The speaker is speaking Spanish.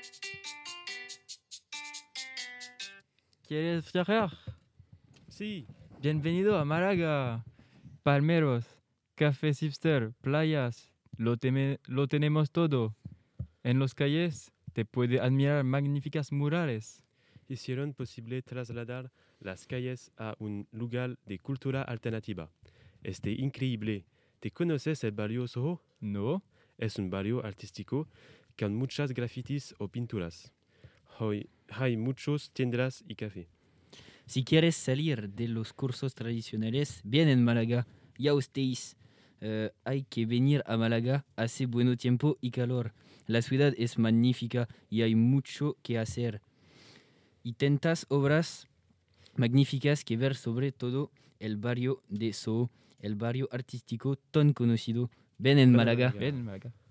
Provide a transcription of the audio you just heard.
¿Quieres viajar? Sí, Bienvenido a Málaga. Palmeros, cafés hipster, playas. Lo tenemos todo. En los calles te puede admirar magníficas murales. hicieron posible trasladar las calles a un lugar de cultura alternativa. Increíble. ¿Te conoces el barrio Soho? ¿No? Es un barrio artístico con muchas grafitis o pinturas. Hoy hay muchos tiendas y café. Si quieres salir de los cursos tradicionales, bien en Málaga. Ya ustedes, hay que venir a Málaga. Hace buen tiempo y calor. La ciudad es magnífica y hay mucho que hacer. Y tantas obras magníficas que ver, sobre todo el barrio de Soho, el barrio artístico tan conocido. Ven en Ven a Málaga. Málaga. Ven, Málaga.